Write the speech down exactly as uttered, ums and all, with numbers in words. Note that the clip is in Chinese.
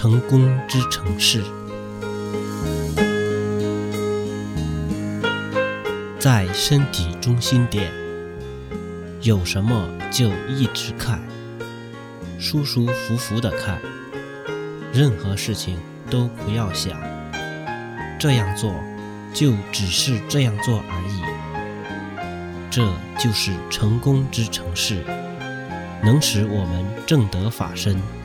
成功之城市。在身体中心点，有什么就一直看，舒舒服服地看，任何事情都不要想，这样做就只是这样做而已。这就是成功之城市，能使我们正得法身。